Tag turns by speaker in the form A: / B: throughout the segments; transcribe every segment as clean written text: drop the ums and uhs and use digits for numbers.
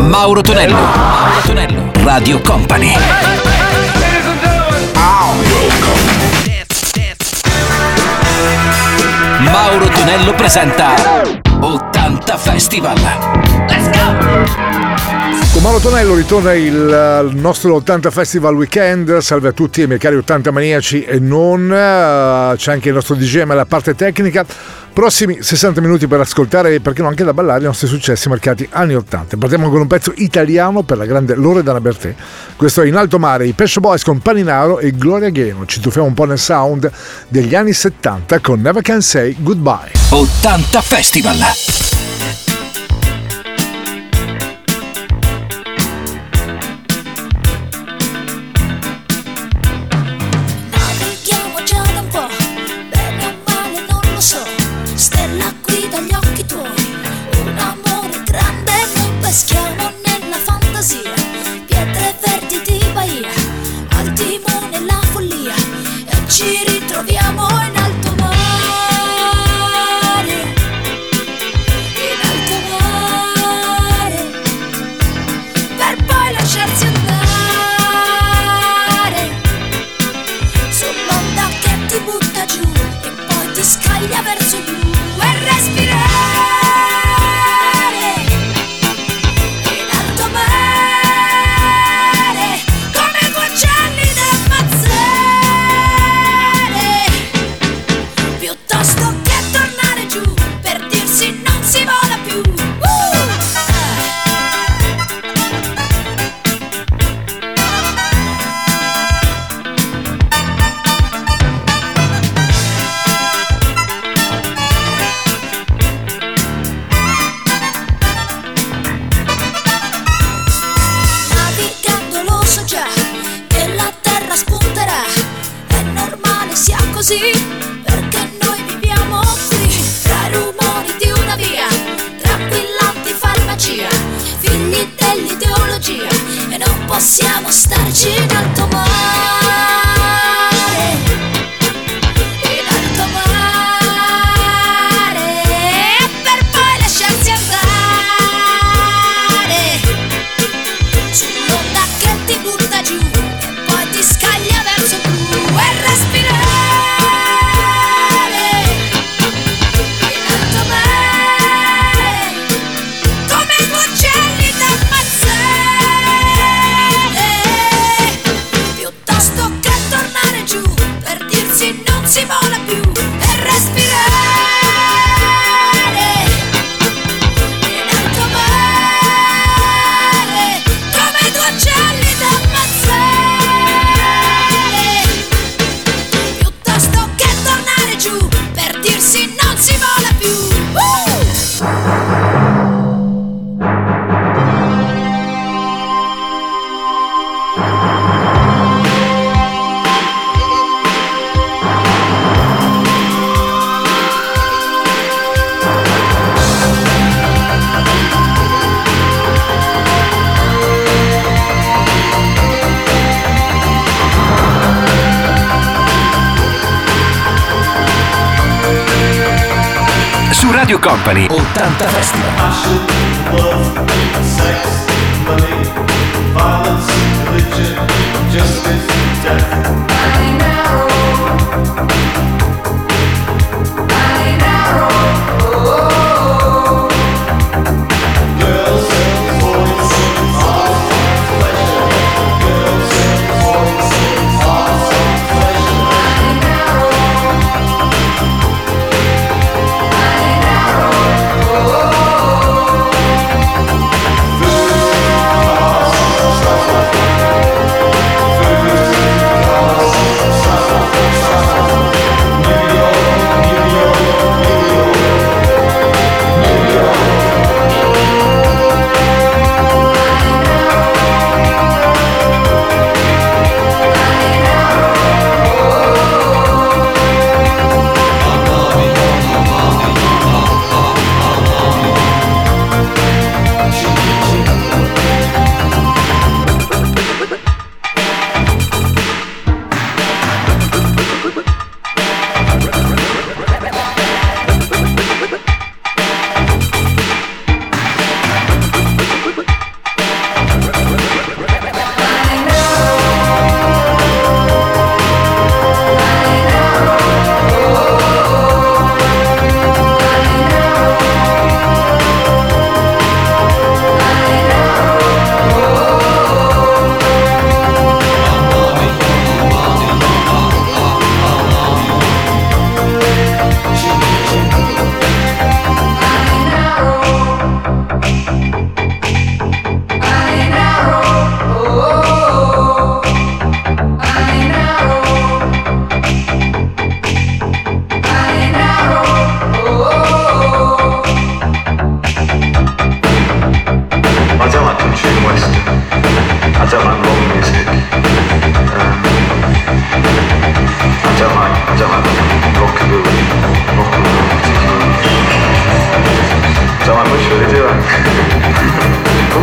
A: Mauro Tonello. Mauro Tonello. Radio Company. Mauro Tonello presenta 80 Festival. Let's go!
B: Con Mauro Tonello ritorna il nostro 80 Festival Weekend. Salve a tutti i miei cari 80 maniaci e non. C'è anche il nostro DJM alla parte tecnica. Prossimi 60 minuti per ascoltare e perché no anche da ballare i nostri successi marcati anni 80. Partiamo con un pezzo italiano per la grande Loredana Bertè. Questo è In alto mare, i Pet Boys con Paninaro e Gloria Gaynor. Ci tuffiamo un po' nel sound degli anni 70 con Never Can Say Goodbye.
A: 80 Festival.
C: Peschiamo nella fantasia, pietre verdi di Bahia, al timone la follia, e ci ritroviamo in alto mare, per poi lasciarsi andare, sull'onda che ti butta giù e poi ti scaglia verso giù e respirare. Perché noi viviamo qui, tra i rumori di una via, tranquillanti farmacia, figli dell'ideologia, e non possiamo starci in alto mare, in alto mare, per poi lasciarsi andare, sull'onda che ti butta giù e poi ti scaglia verso giù e respirare. Si vola più e respirare in alto mare, come due uccelli da ammazzare, piuttosto che tornare giù per dirsi non si vola più.
A: Radio Company 80 Festival.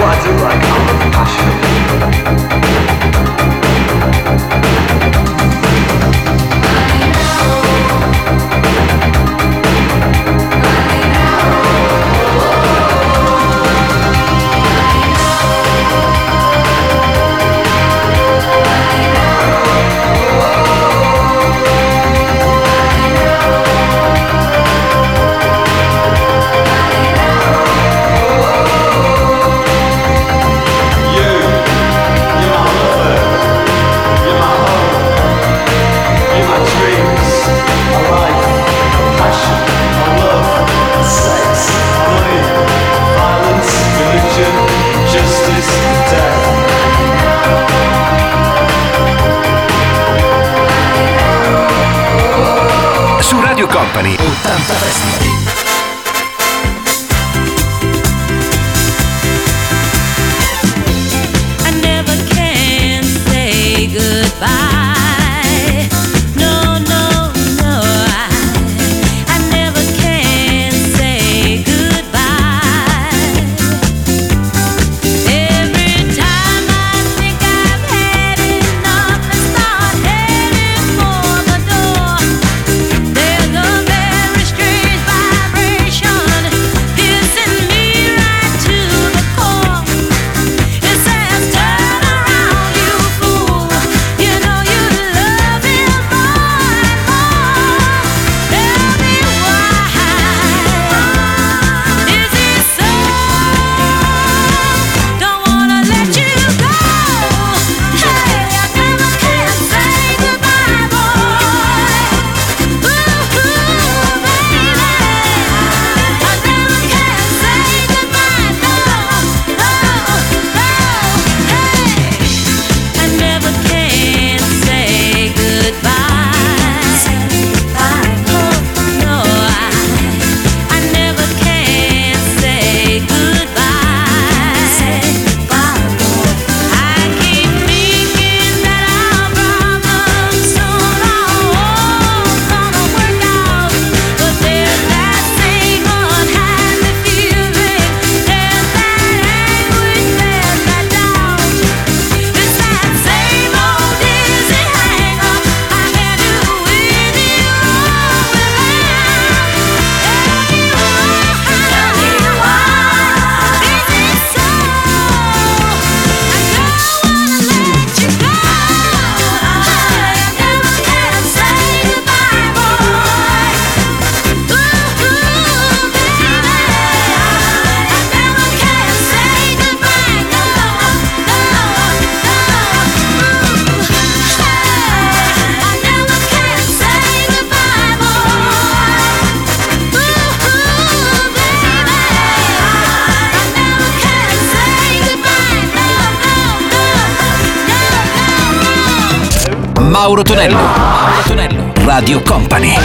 D: What I do like, I love passion.
A: Su Radio Company 80 Festival.
E: I never can say goodbye. No, no, no. I never can say goodbye. Every time I think I've had enough and start heading for the door, there's a very strange vibration piercing me right to the core. It says, turn around, you fool. You know you love him more and more. Tell me why. Is it so? Don't wanna let you go. Hey, I never can say goodbye, boy. Ooh, baby. I never can say goodbye, no, no, no. Hey, I never can say goodbye. Oh, no, I never can say goodbye. I keep thinking that our problem soon all gonna work out, but there's that same unhappy feeling, there's that anguish, there's that doubt. It's that same old dizzy hang-up. I can't do with you or without. Tell me why. Is it so? I don't wanna let you go. I never can say goodbye, boy. Ooh, baby. I never can say goodbye, no, no, no. I never can say goodbye, boy. Ooh, baby. I never can say goodbye, no, no, no, no, no.
A: Mauro Tonello. Mauro Tonello. Radio Company.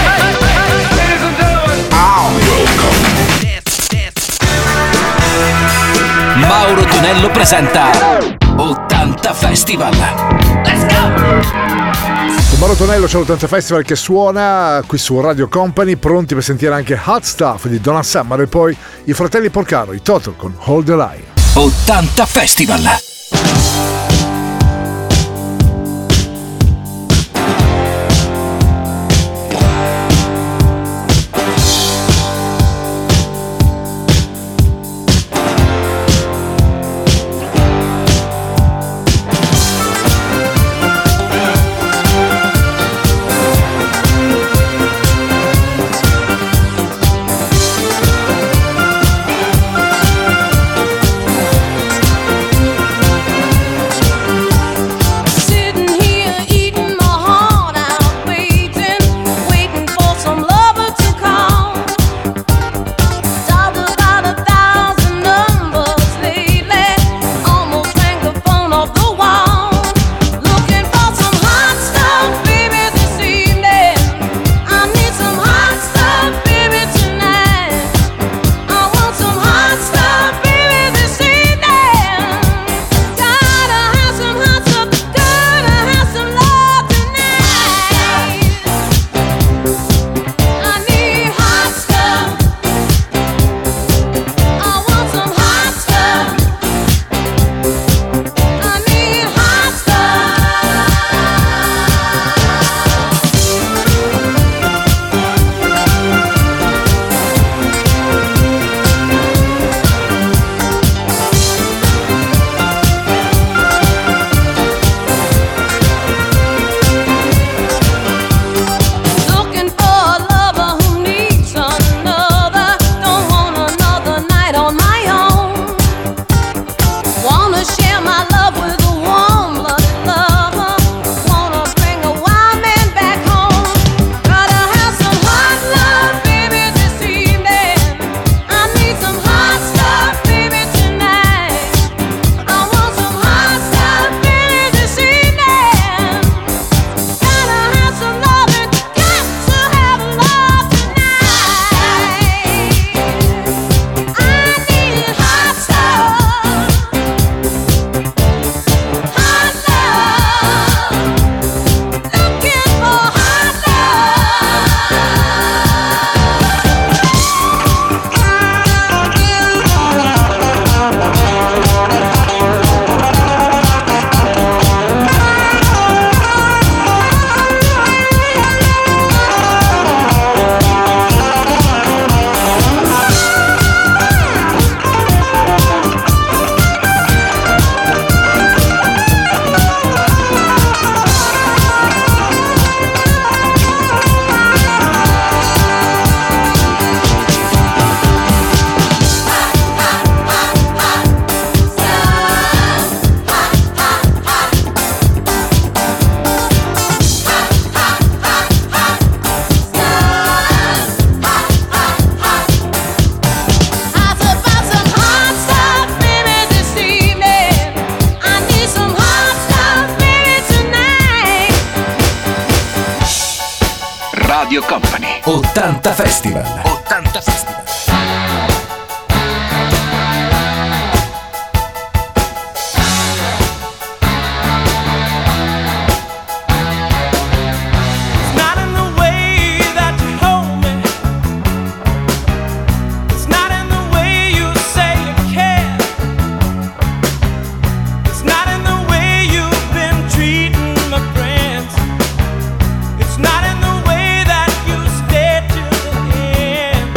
A: Mauro Tonello presenta 80 Festival. Let's go!
B: Mauro Tonello, c'è l'80 Festival che suona qui su Radio Company, pronti per sentire anche Hot Stuff di Donna Summer e poi i fratelli Porcaro, i Total con Hold the Line.
A: 80 Festival.
E: I
A: Radio Company. 80 Festival. 80 Festival.
F: Not in the way that you stay till the end.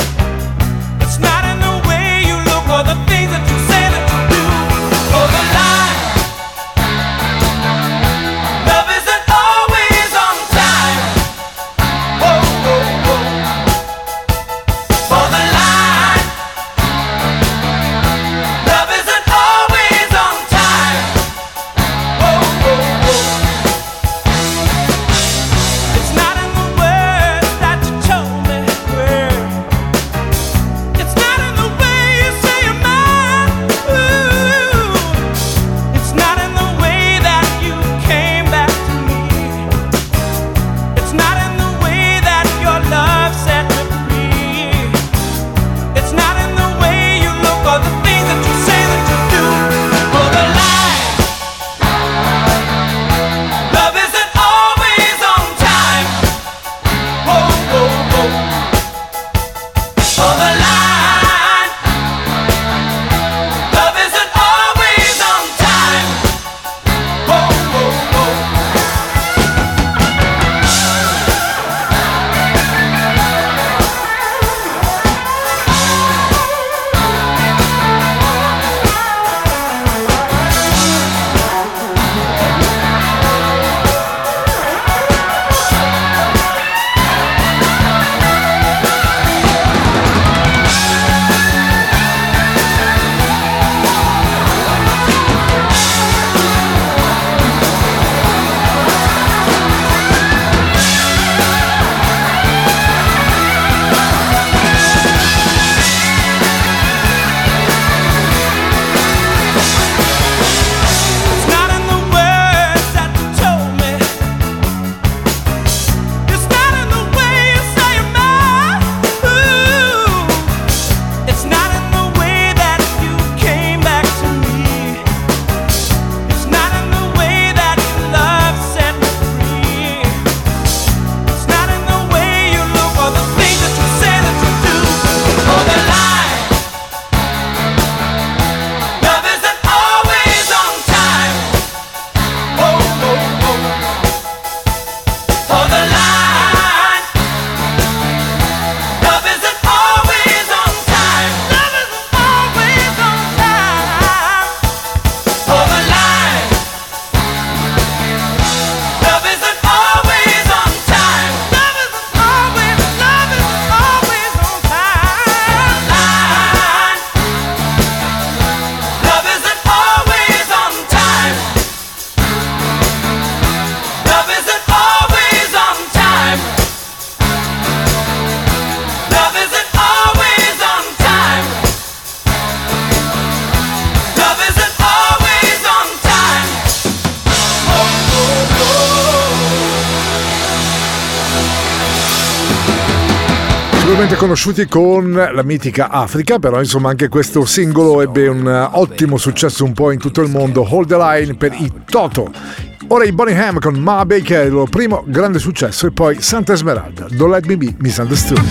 B: sicuramente conosciuti con la mitica Africa, però insomma anche questo singolo ebbe un ottimo successo un po' in tutto il mondo. Hold the Line per i Toto. Ora i Boney M con Ma Baker, il loro primo grande successo, e poi Santa Esmeralda, Don't Let Me Be Misunderstood.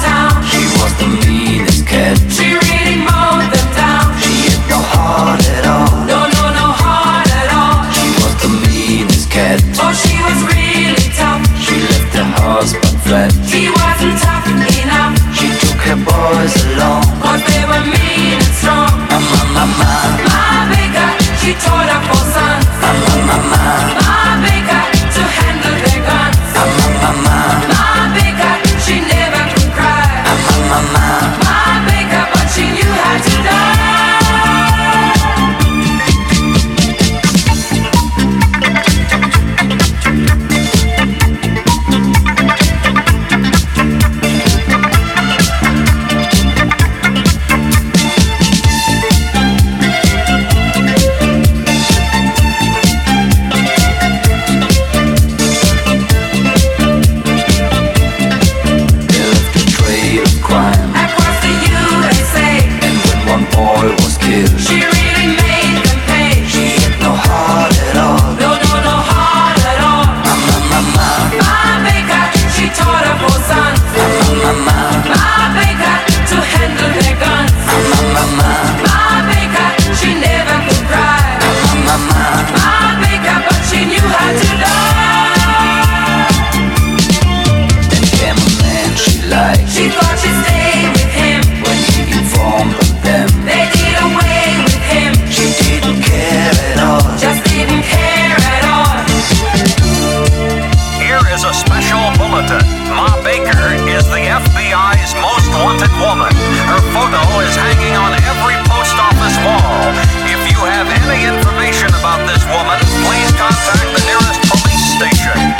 G: She really mowed them down. She hit the heart at all. is a special bulletin. Ma Baker is the FBI's most wanted woman. Her photo is hanging on every post office wall. If you have any information about this woman, please contact the nearest police station.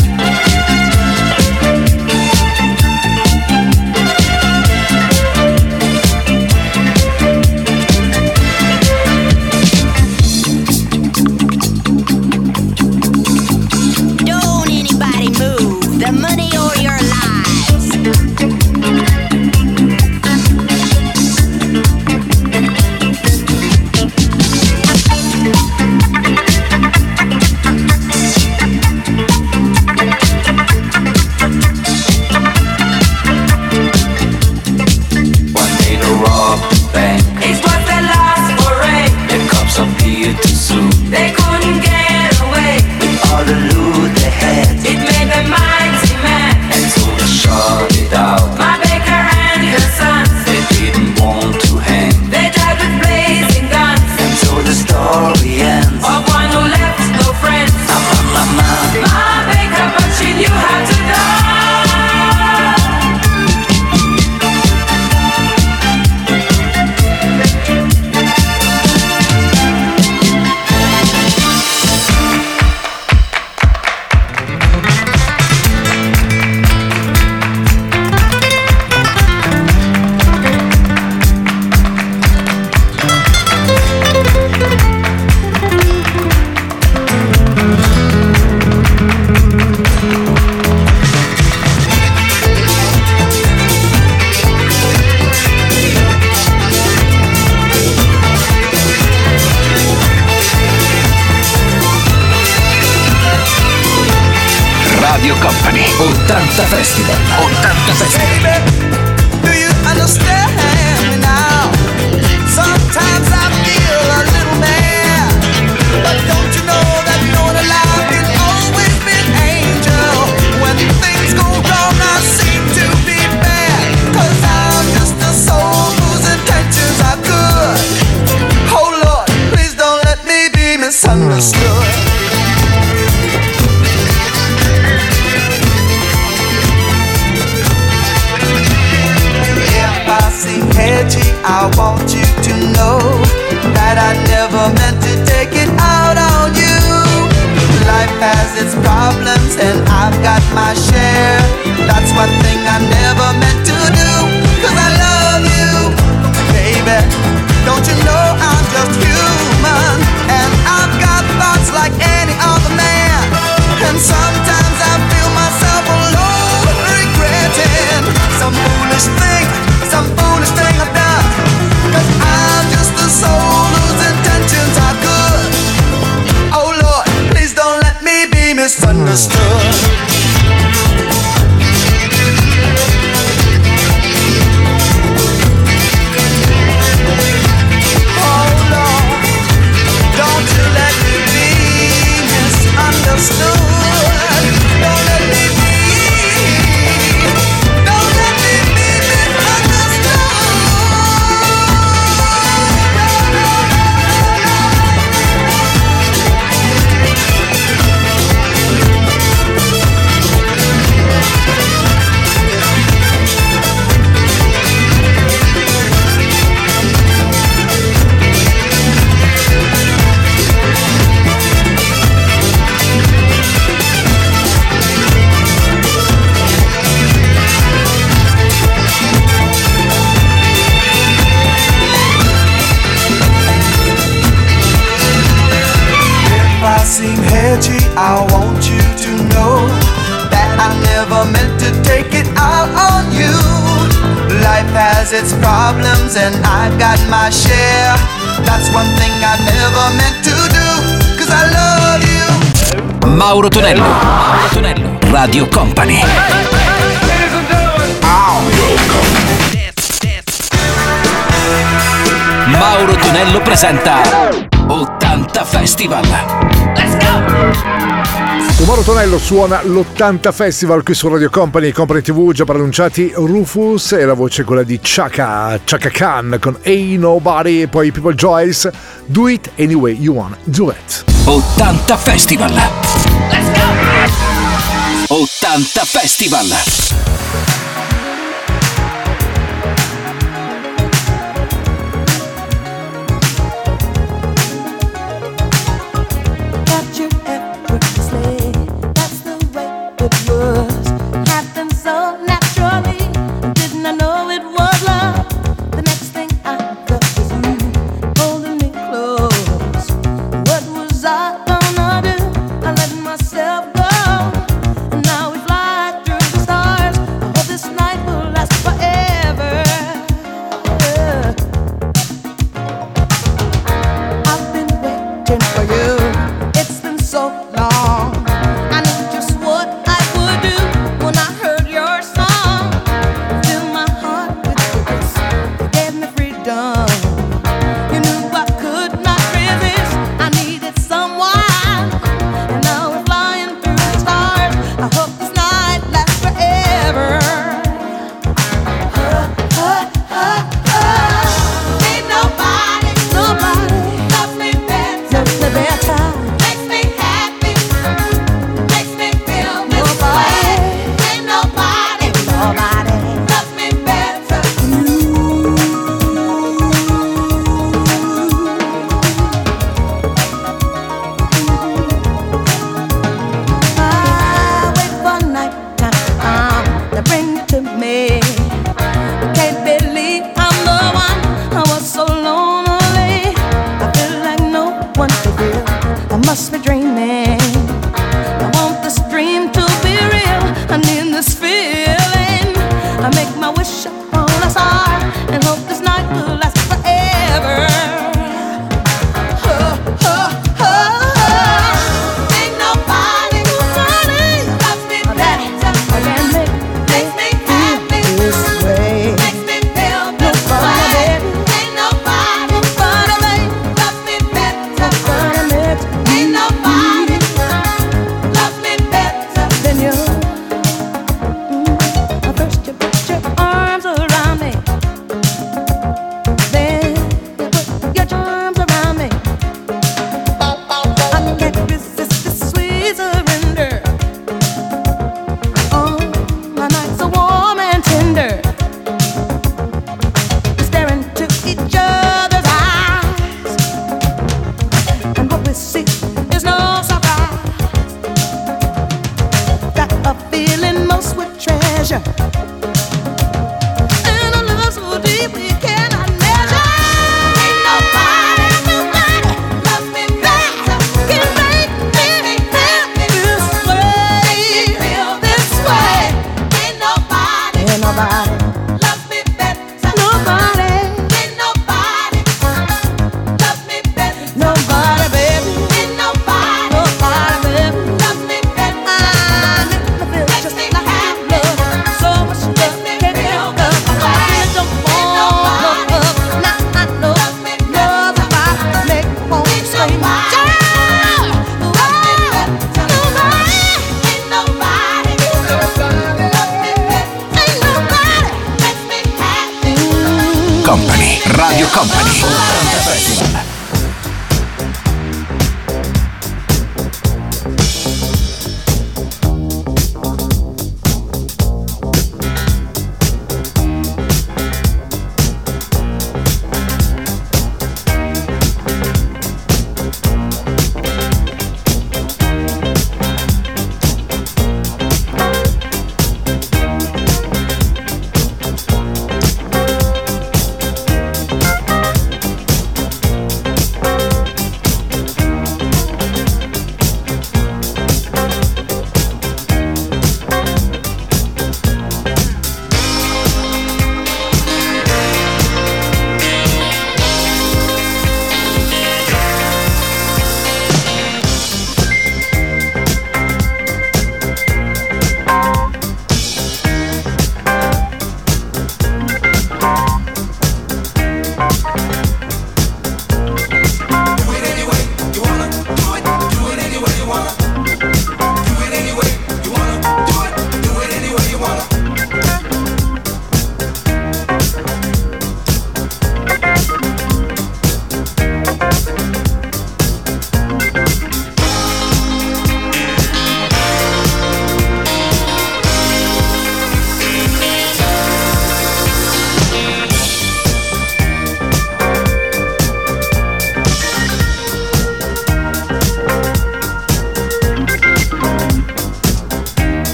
E: Don't anybody move. The money or your lives.
D: One day to rob the bank.
H: It was their last foray.
D: The cops appeared too soon.
H: They couldn't get away.
D: All the loot they had,
H: It made them mighty mad.
D: and so they shot it out.
H: My Baker and her sons,
D: They didn't want to hang,
H: they died with blazing guns.
D: and so the story ends.
H: Of one who left no friends. My Baker, but she knew how to die.
A: Radio Company 80 Festival. 80 Festival.
F: Do you understand me now? Sometimes I feel a little mad, but don't you know that your life can always be an angel? When things go wrong, I seem to be bad, 'cause I'm just a soul whose intentions are good. Oh Lord, please don't let me be misunderstood. If I seem edgy, I want you to know that I never meant to take it out on you. Life has its problems and I've got my share. That's one thing I never meant to do, 'cause I love you, baby. Don't you know I'm just human, and I've got thoughts like any other man. And sometimes I feel myself alone, regretting some foolish thing I've done. 'Cause I'm just a soul whose intentions are good. Oh Lord, please don't let me be misunderstood. Oh Lord, don't you let me be misunderstood. Don't let me be. Don't let me be misunderstood. If I seem edgy, I want you to know that I never meant to take it out on you. Life has its problems and I've got my share. That's one thing I never meant to do, 'cause I love you.
A: Mauro Tonello. Mauro Tonello. Radio Company. Mauro Tonello presenta 80 Festival. Let's go!
B: Mauro Tonello suona l'80 Festival qui su Radio Company, Company TV, già pronunciati Rufus, e la voce è quella di Chaka Khan con Ain't Nobody, e poi People Joyce, Do It Anyway You Want, Do It.
A: 80 Festival. Let's go! 80 Festival.
E: Got you effortlessly. That's the way it was. Happened so naturally. Didn't I know it was love? The next thing I felt was you holding me close. What was I gonna do? I let myself go. And now we fly through the stars. I hope this night will last forever. I've been waiting for you. It's been so long. I knew just what I would do when I heard your song. Fill my heart with your kiss. You gave me freedom. You knew I could not resist. I needed someone. And now we're flying through the stars. I hope this night lasts forever. Ain't nobody loves me better. Makes me happy. Makes me feel this way. Ain't nobody loves me better. I wait for night time to bring you to me. Can't believe I'm the one. I was so lonely. I feel like no one to feel. I must be dreaming. I want this dream to be real. I need this feeling. I make my wish upon a star and hope this night will last forever. Ain't nobody loves me better. Makes me happy. Makes me feel this way. Ain't nobody loves me better. Ain't nobody loves me better than you. First you put your arms around me. Then you put your charms around me. I can't resist this sweet surrender. Oh, my nights are warm and tender. Staring into each other's eyes, and what we see is no surprise. Got a feeling most would treasure, and a love so deep we cannot measure. Ain't nobody loves me better. Can make me happy this way. This way. Ain't nobody loves me better. Nobody. Ain't nobody loves me better. Nobody, baby. Ain't nobody baby. Loves me better. Makes me happy. So much love. Can't help it. I don't want love. Now I know love if I make home scream. Ain't nobody loves me better. Ain't nobody makes me happy.
A: Company, Radio Company. 80 Festival.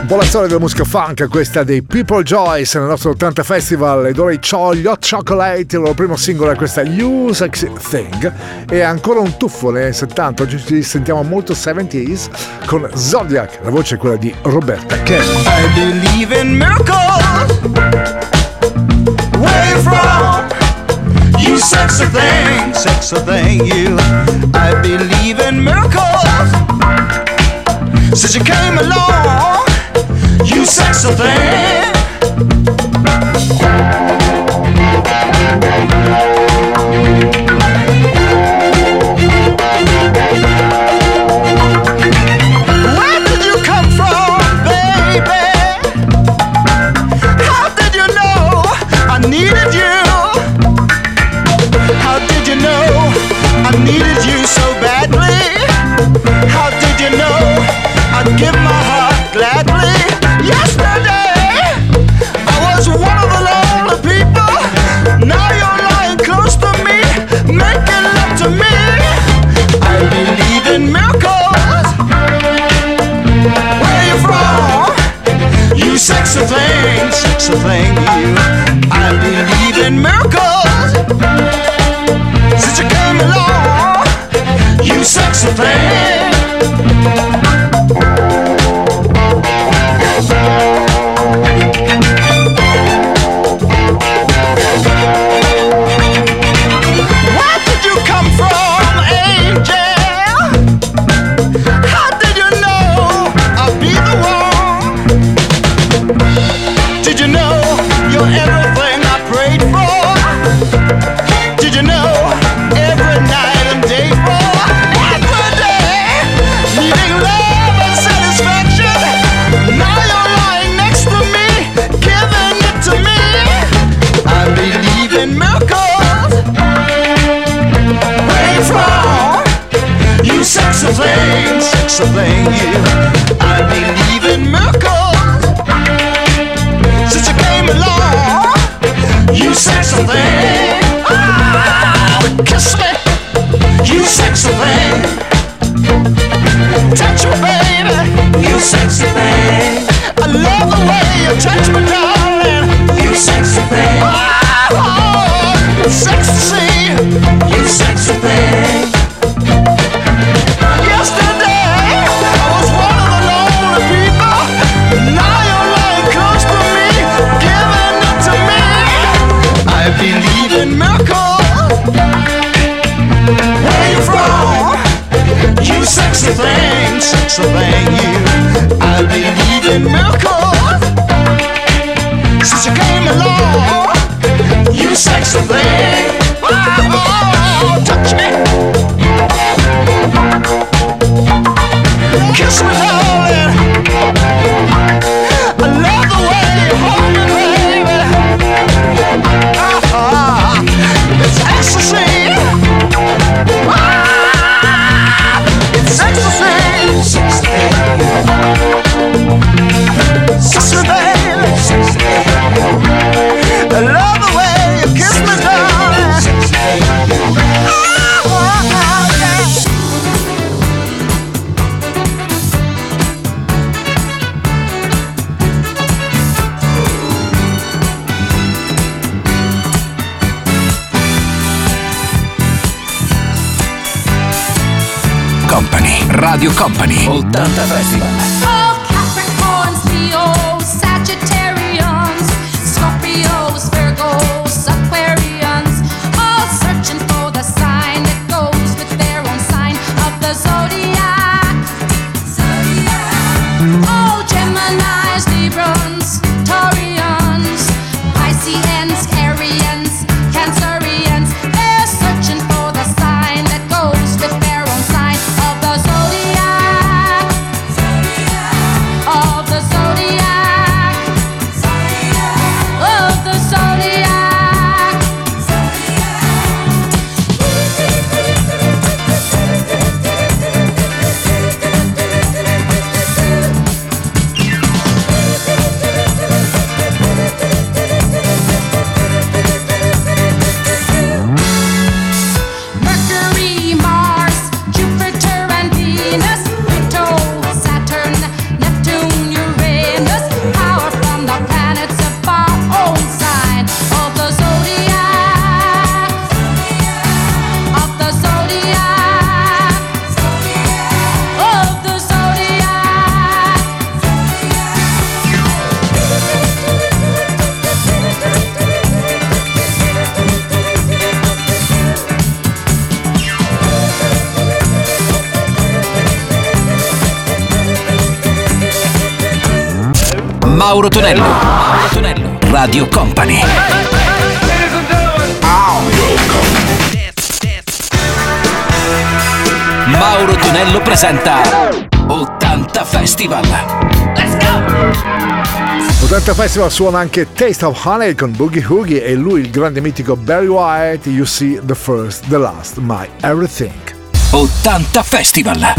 B: po' la storia della musica funk, questa dei People Joyce nel nostro 80 Festival. Ed ora gli Hot Chocolate, il loro primo singolo è questa You Sexy Thing. E ancora un tuffo nei 70, oggi ci sentiamo molto 70s con Zodiac, la voce è quella di Roberta Kelly.
I: I believe in miracles. Where you from? You sexy thing, you. I believe in miracles. Since you came along, you sexy thing. Where did you come from, baby? How did you know I needed you? How did you know I needed you so badly? How did you know I'd give my heart gladly? Yesterday I was one of the lonely people. Now you're lying close to me, making love to me. I believe in miracles. Where you from? You sexy thing, you. I believe in miracles. Since you came along, you sexy thing. Where did you come from, angel? How did you know I'd be the one? Did you know you're everything I prayed for? Did you know every night and day for? Every day, needing love and satisfaction. Now you're lying next to me, giving it to me. I believe in miracles. Where you from? You sexy thing, you. I believe in miracles. Since you came along, you sexy thing. Oh, kiss me, you sexy thing. Touch me, baby, you sexy thing. I love the way you touch me, darling. You sexy thing. Oh, it's sexy to see you sexy thing. Yesterday I was one of the lonely people. Now you're lying close to me, giving it to me. I believe in miracles. Where you from? You sexy thing, you. I believe in miracles. Since you came along, you sexy thing. Oh, touch me, kiss me, darling. I love the way you hold me, baby. It's ecstasy. It's ecstasy. Kiss me, baby. I love the way you kiss me, darling.
A: Company, Radio Company, 80 Festival.
C: Oh, Capricorns, Leos, Sagittarians, Scorpios, Virgos, Aquarians, all searching for the sign that goes with their own sign of the zodiac. Oh, Geminis, Librans, Taurians, Pisceans, Arians, Cancerians, they're searching for the sign that goes with their own sign of the zodiac. Of the zodiac.
A: Mauro Tonello. Mauro Tonello. Radio Company. Mauro Tonello presenta 80 Festival. Let's go!
B: 80 Festival suona anche Taste of Honey con Boogie Woogie e lui il grande mitico Barry White. You see the first, the last, my everything.
A: 80 Festival.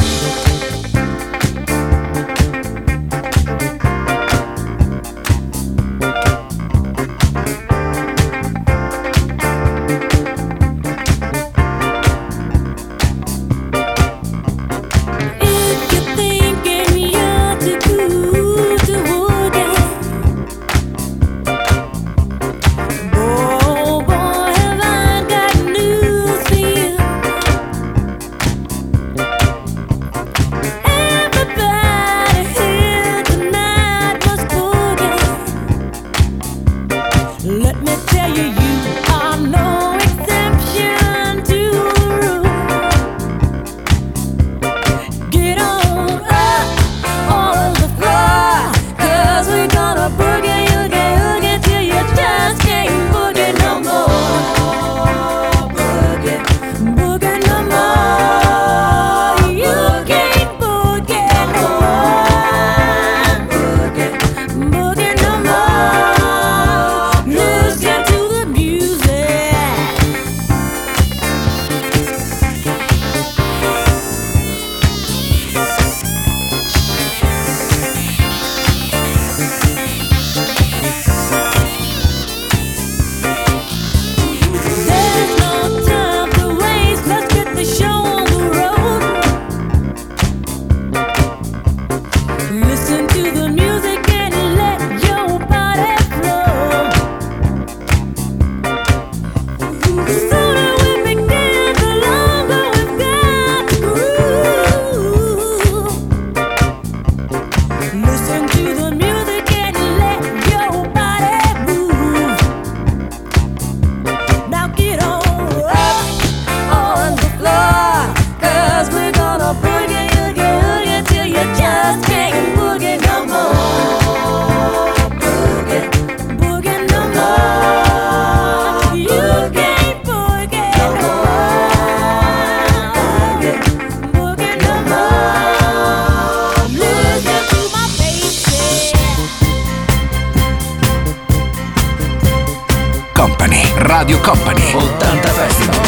A: Radio Company 80 Festival.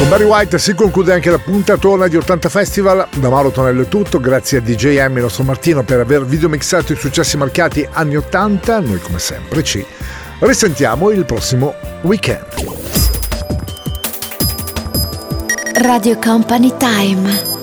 B: Con Barry White si conclude anche la puntatona di 80 Festival. Da Mauro Tonello è tutto, grazie a DJM, il nostro Martino, per aver videomixato i successi marcati anni 80. Noi come sempre ci risentiamo il prossimo weekend.
J: Radio Company Time.